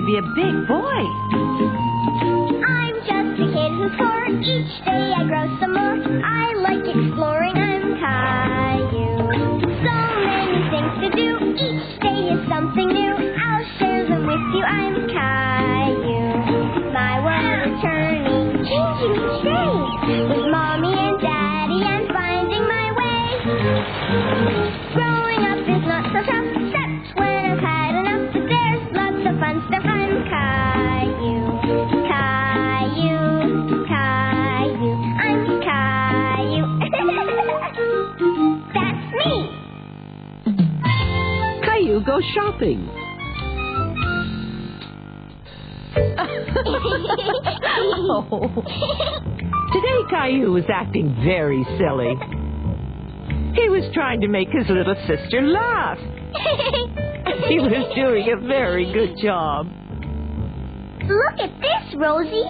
to be a big boy. I'm just a kid who's 4. Each day I grow some more. I like exploring. I'm Caillou. So many things to do. Each day is something new. I'll share them with you. I'm Caillou. My world is turning, changing each day. With Mommy and Daddy, I'm finding my way. Growing up is not so tough, except when I've had enough. But there's lots of fun stuff. I'm Caillou. Caillou. Caillou. I'm Caillou. That's me. Caillou goes shopping. Oh. Today Caillou was acting very silly. He was trying to make his little sister laugh. He was doing a very good job. Look at this, Rosie.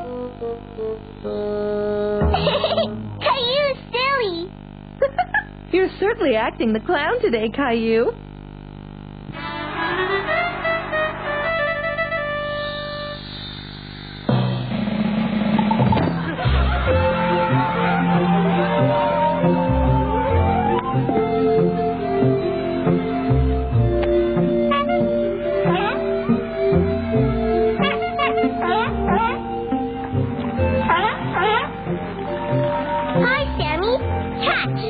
Caillou's silly. You're certainly acting the clown today, Caillou. Hi, Sammy. Catch.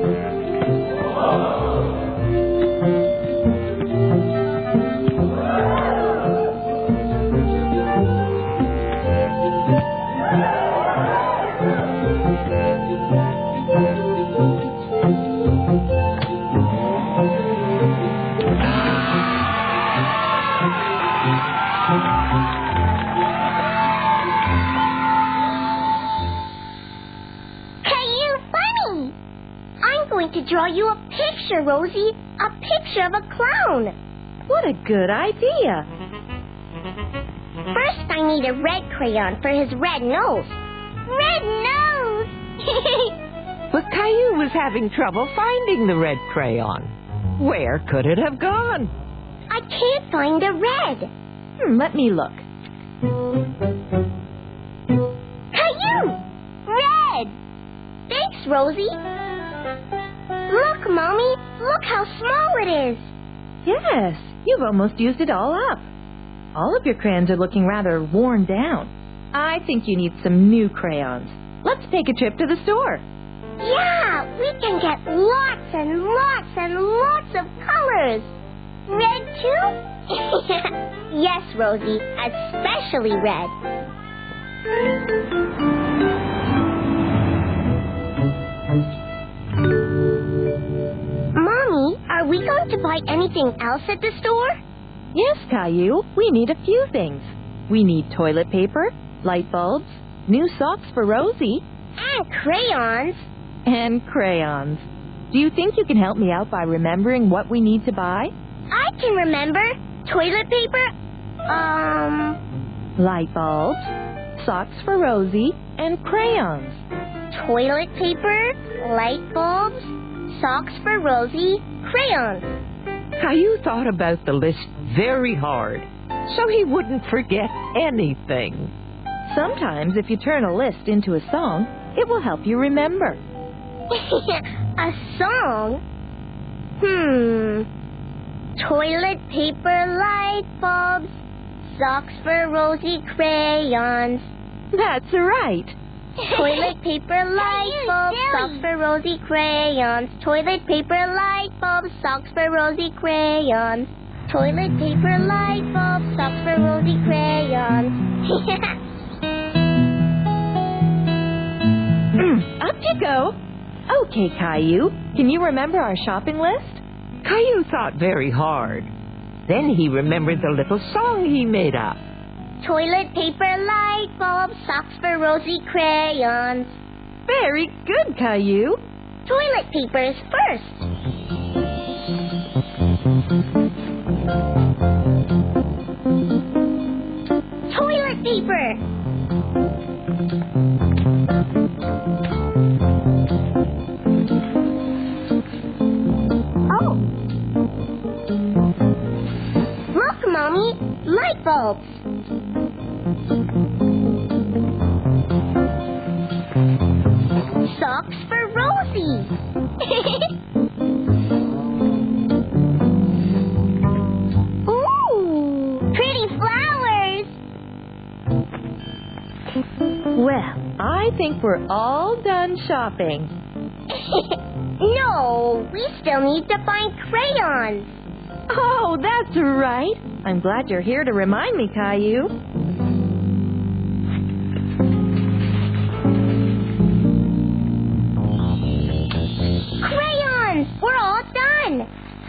Caillou, funny. I'm going to draw you a picture, Rosie. A picture of a clown. What a good idea. First, I need a red crayon for his red nose. Red nose! But Caillou was having trouble finding the red crayon. Where could it have gone? I can't find the red. Let me look. Caillou! Red! Thanks, Rosie. Look, Mommy. Look how small it is. Yes, you've almost used it all up. All of your crayons are looking rather worn down. I think you need some new crayons. Let's take a trip to the store. Yeah, we can get lots and lots and lots of colors. Red, too? Yes, Rosie, especially red. Mommy, are we going to buy anything else at the store? Yes, Caillou, we need a few things. We need toilet paper, light bulbs, new socks for Rosie, And crayons. and crayons. Do you think you can help me out by remembering what we need to buy? I can remember. Toilet paper. Light bulbs, socks for Rosie, and crayons. Toilet paper, light bulbs, socks for Rosie, crayons. Caillou thought about the list very hard, so he wouldn't forget anything. Sometimes if you turn a list into a song, it will help you remember. A song? Toilet paper, light bulbs, socks for Rosie, crayons. That's right. Toilet paper, light bulbs, socks for Rosie, crayons. Toilet paper, light bulbs, socks for Rosie, crayons. Toilet paper, light bulbs, socks for Rosie, crayons. Up you go. Okay, Caillou, can you remember our shopping list? Caillou thought very hard. Then he remembered the little song he made up. Toilet paper, light bulbs, socks for Rosie, crayons. Very good, Caillou. Toilet paper is first. Toilet paper. Oh. Look, Mommy. Light bulbs. Socks for Rosie. Ooh, pretty flowers. Well, I think we're all done shopping. No, we still need to find crayons. Oh, that's right. I'm glad you're here to remind me, Caillou. Crayons! We're all done.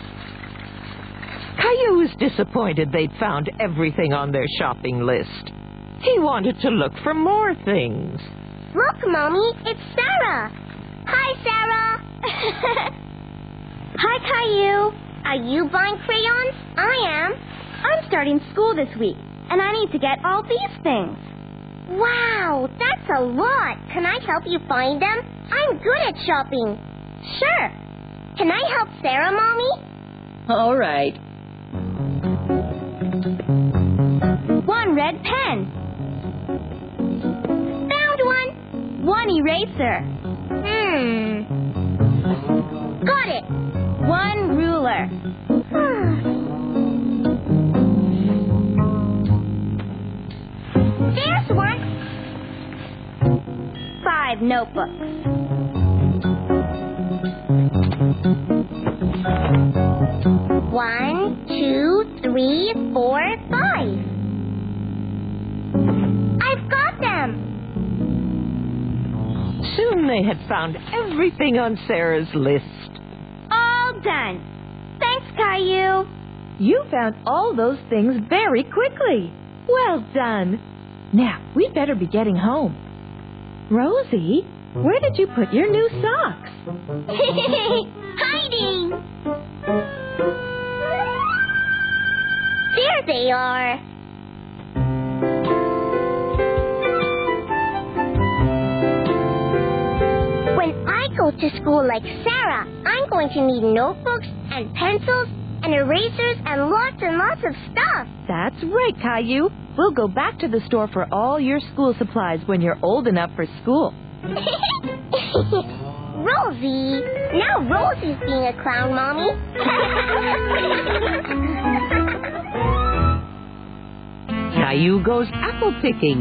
Caillou was disappointed they'd found everything on their shopping list. He wanted to look for more things. Look, Mommy, it's Sarah. Hi, Sarah. Hi, Caillou. Are you buying crayons? I am. I'm starting school this week, and I need to get all these things. Wow, that's a lot. Can I help you find them? I'm good at shopping. Sure. Can I help Sarah, Mommy? All right. One red pen. Found one. One eraser. Got it. One ruler. There's one. 5 notebooks. One, 2, 3, 4, 5. I've got them. Soon they had found everything on Sarah's list. All done. Thanks, Caillou. You found all those things very quickly. Well done. Now, we'd better be getting home. Rosie, where did you put your new socks? Hiding. There they are. When I go to school like Sarah, I'm going to need notebooks and pencils and erasers and lots of stuff. That's right, Caillou. We'll go back to the store for all your school supplies when you're old enough for school. Rosie! Now Rosie's being a clown, Mommy. Caillou goes apple picking.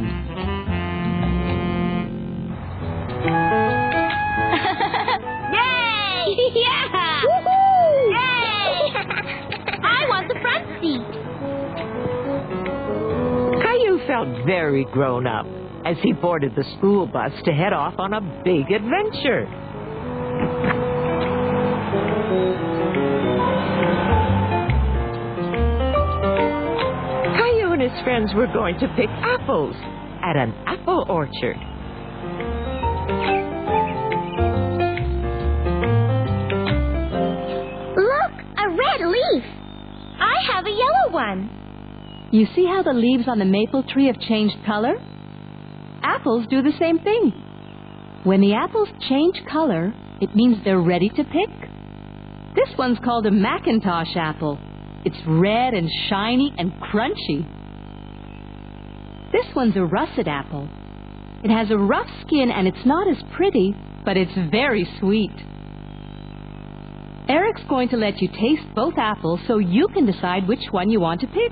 Yay! Yeah! Woohoo! Yay! I want the front seat. Caillou felt very grown up as he boarded the school bus to head off on a big adventure. Caillou and his friends were going to pick apples at an apple orchard. Look, a red leaf. I have a yellow one. You see how the leaves on the maple tree have changed color? Apples do the same thing. When the apples change color, it means they're ready to pick. This one's called a Macintosh apple. It's red and shiny and crunchy. This one's a russet apple. It has a rough skin and it's not as pretty, but it's very sweet. Eric's going to let you taste both apples so you can decide which one you want to pick.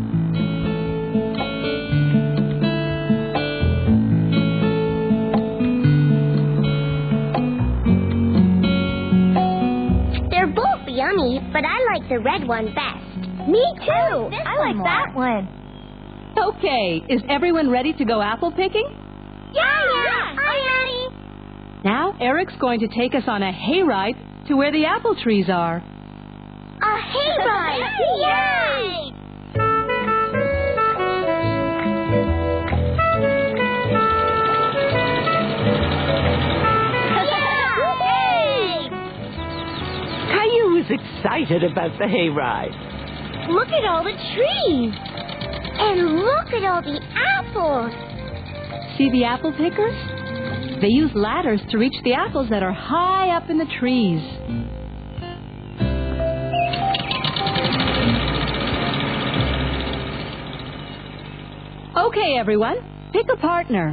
They're both yummy, but I like the red one best. Me too. I like that one. Okay, is everyone ready to go apple picking? Yeah, I'm ready. Now Eric's going to take us on a hayride to where the apple trees are. A hayride! Yay! Caillou was excited about the hayride. Look at all the trees. And look at all the apples. See the apple pickers? They use ladders to reach the apples that are high up in the trees. Okay, everyone. Pick a partner.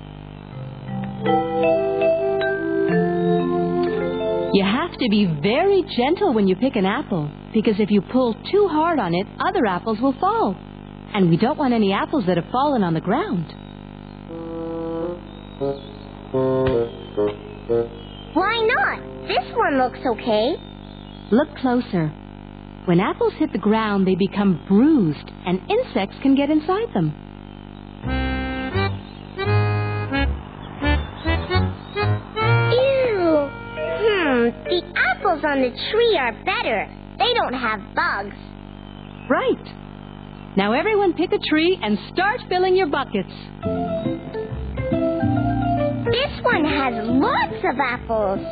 You have to be very gentle when you pick an apple, because if you pull too hard on it, other apples will fall. And we don't want any apples that have fallen on the ground. Why not? This one looks okay. Look closer. When apples hit the ground, they become bruised, and insects can get inside them. Ew. The apples on the tree are better. They don't have bugs. Right. Now everyone pick a tree and start filling your buckets. This one has lots of apples.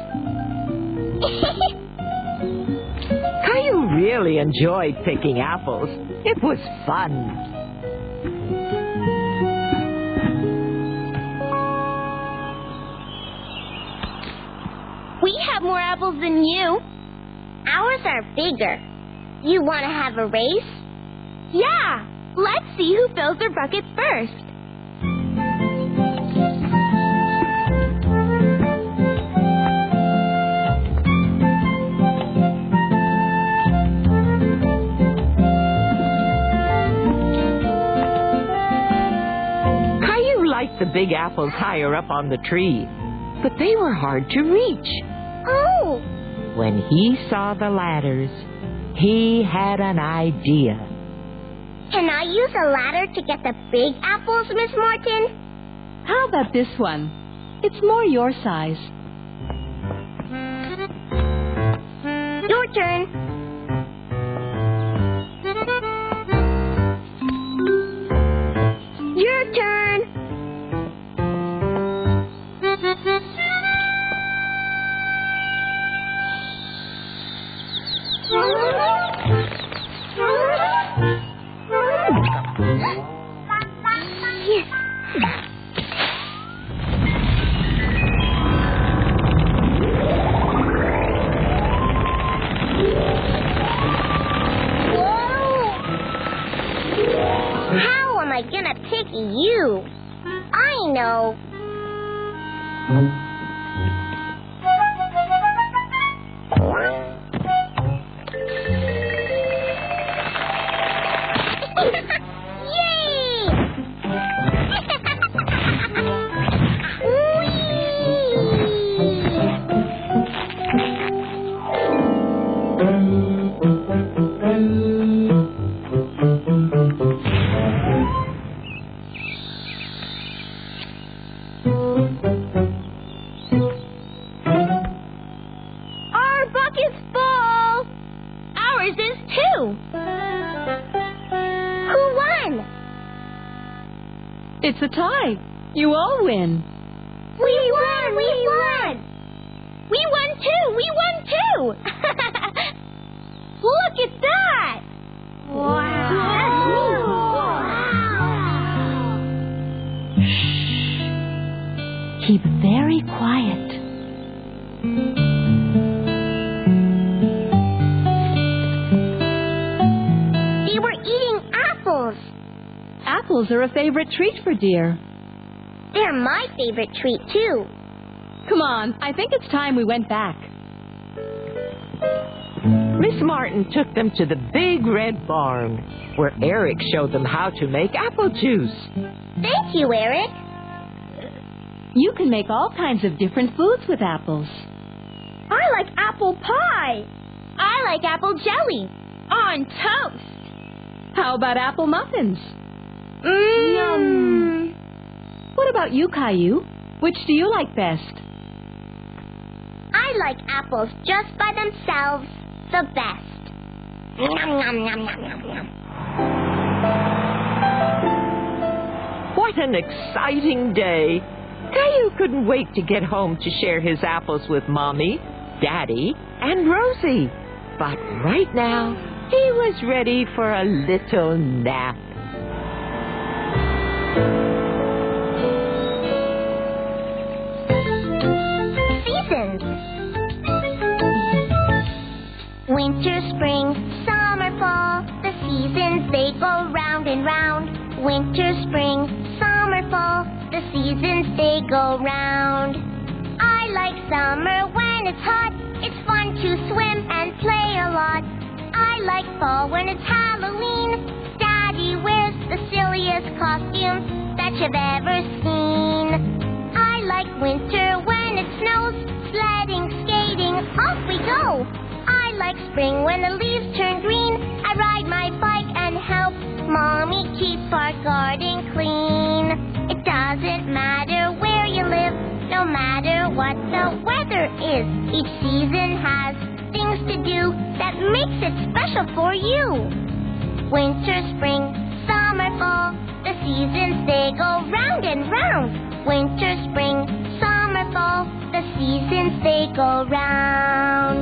Caillou really enjoyed picking apples. It was fun. We have more apples than you. Ours are bigger. You want to have a race? Yeah. Let's see who fills their bucket first. Caillou liked the big apples higher up on the tree, but they were hard to reach. Oh. When he saw the ladders, he had an idea. Can I use a ladder to get the big apples, Miss Martin? How about this one? It's more your size. Your turn. Your turn. How am I gonna pick you? I know. Yay! Our bucket's full. Ours is too. Who won? It's a tie. You all win. We won! We won! We won too! We won too! Look at that! Wow! Keep very quiet. They were eating apples. Apples are a favorite treat for deer. They're my favorite treat too. Come on, I think it's time we went back. Miss Martin took them to the big red barn, where Eric showed them how to make apple juice. Thank you, Eric. You can make all kinds of different foods with apples. I like apple pie. I like apple jelly on toast. How about apple muffins? Yum. What about you, Caillou? Which do you like best? I like apples just by themselves the best. Yum, yum, yum, yum, yum, yum. What an exciting day! Caillou couldn't wait to get home to share his apples with Mommy, Daddy, and Rosie. But right now, he was ready for a little nap. Seasons. Winter, spring, summer, fall. The seasons, they go round and round. Winter, spring, fall, the seasons they go round. I like summer when it's hot, it's fun to swim and play a lot. I like fall when it's Halloween. Daddy wears the silliest costumes that you've ever seen. I like winter when it snows, sledding, skating, off we go. I like spring when the leaves turn green. I ride my bike and help Mommy keep our garden clean. It doesn't matter where you live, no matter what the weather is. Each season has things to do that makes it special for you. Winter, spring, summer, fall, the seasons they go round and round. Winter, spring, summer, fall, the seasons they go round.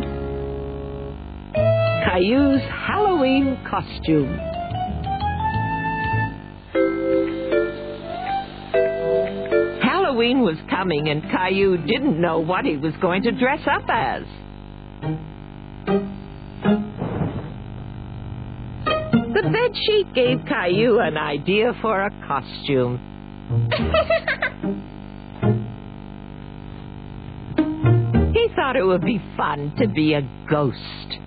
Caillou's Halloween costume. Halloween was coming and Caillou didn't know what he was going to dress up as. The bedsheet gave Caillou an idea for a costume. He thought it would be fun to be a ghost.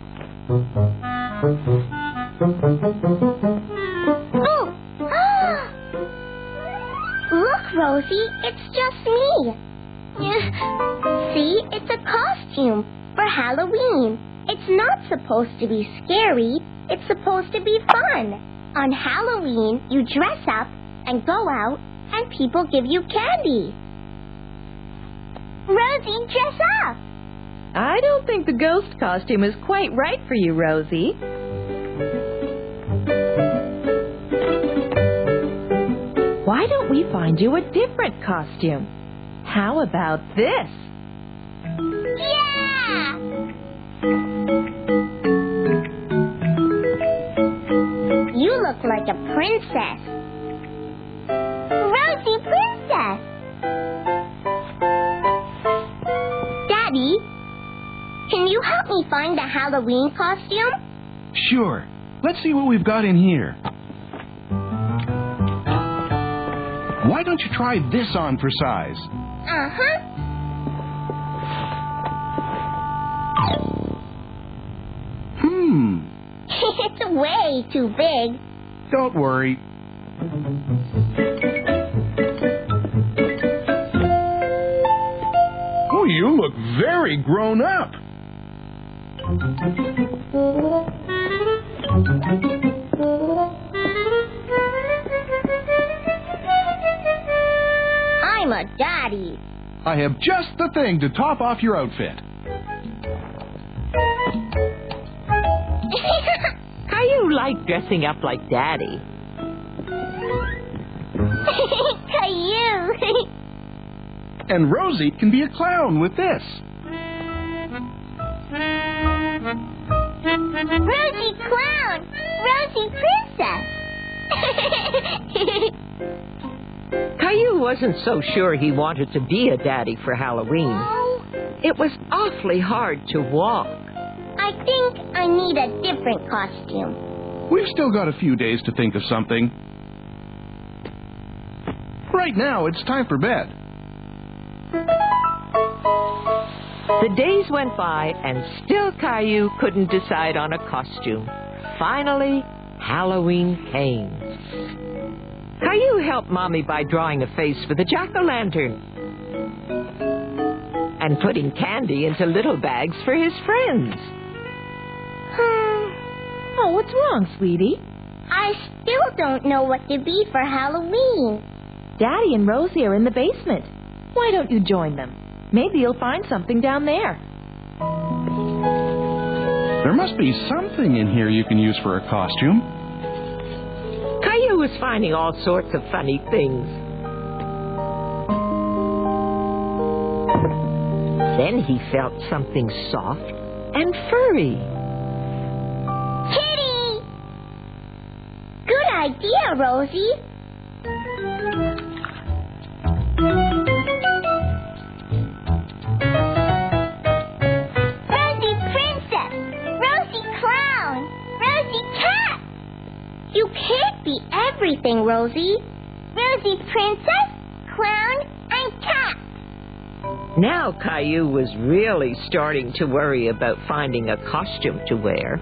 Oh! Look, Rosie, it's just me. See, it's a costume for Halloween. It's not supposed to be scary. It's supposed to be fun. On Halloween, you dress up and go out, and people give you candy. Rosie, dress up. I don't think the ghost costume is quite right for you, Rosie. Why don't we find you a different costume? How about this? Yeah! You look like a princess. Rosie Princess! Daddy, can you help me find a Halloween costume? Sure. Let's see what we've got in here. Why don't you try this on for size? Uh-huh. It's way too big. Don't worry. Oh, you look very grown up. I'm a daddy. I have just the thing to top off your outfit. Caillou liked dressing up like Daddy. Caillou. And Rosie can be a clown with this. Rosie Clown. Rosie Princess. Caillou wasn't so sure he wanted to be a daddy for Halloween. It was awfully hard to walk. I think I need a different costume. We've still got a few days to think of something. Right now, it's time for bed. The days went by, and still Caillou couldn't decide on a costume. Finally, Halloween came. Caillou helped Mommy by drawing a face for the jack-o'-lantern and putting candy into little bags for his friends. Oh, what's wrong, sweetie? I still don't know what to be for Halloween. Daddy and Rosie are in the basement. Why don't you join them? Maybe you'll find something down there. There must be something in here you can use for a costume. Caillou was finding all sorts of funny things. Then he felt something soft and furry. Kitty! Good idea, Rosie. Rosie Princess! Rosie Clown! Rosie Cat! You can't be everything, Rosie. Rosie Princess, Clown. I'm Cap. Now Caillou was really starting to worry about finding a costume to wear.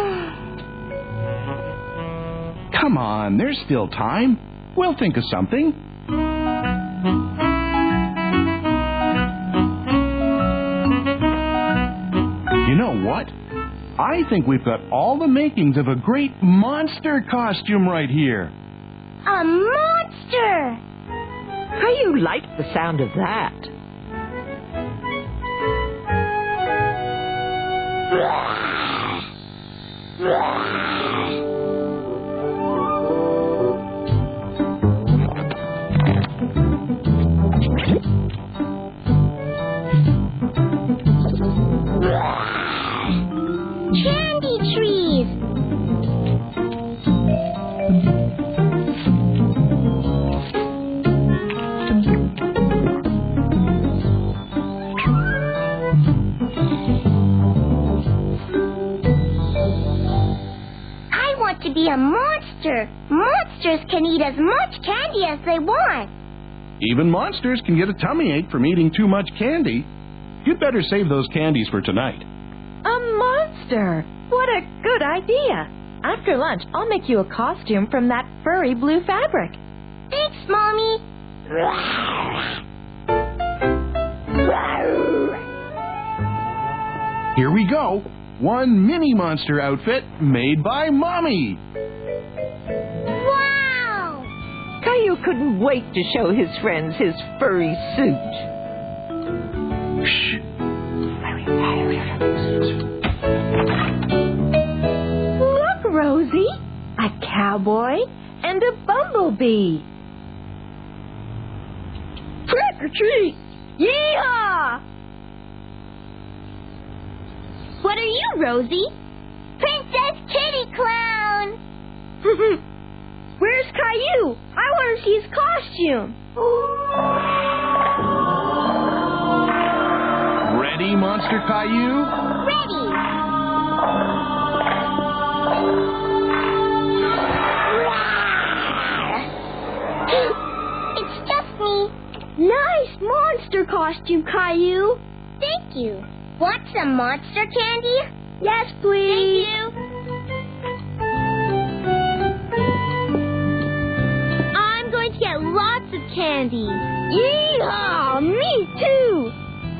Come on, there's still time. We'll think of something. You know what? I think we've got all the makings of a great monster costume right here. A monster! Caillou liked the sound of that. Candy trees! I want to be a monster. Monsters can eat as much candy as they want. Even monsters can get a tummy ache from eating too much candy. You'd better save those candies for tonight. A monster! What a good idea! After lunch, I'll make you a costume from that furry blue fabric. Thanks, Mommy. Here we go. One mini monster outfit made by Mommy. Wow! Caillou couldn't wait to show his friends his furry suit. Shh. Look, Rosie! A cowboy and a bumblebee. Trick or treat! Yeehaw! What are you, Rosie? Princess Kitty Clown! Where's Caillou? I want to see his costume. Ready, Monster Caillou? Ready! It's just me. Nice monster costume, Caillou. Thank you. Want some monster candy? Yes, please. Thank you. I'm going to get lots of candy. Yeehaw! Me too.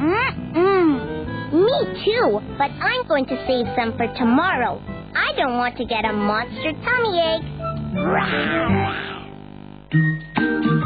Me too, but I'm going to save some for tomorrow. I don't want to get a monster tummy ache.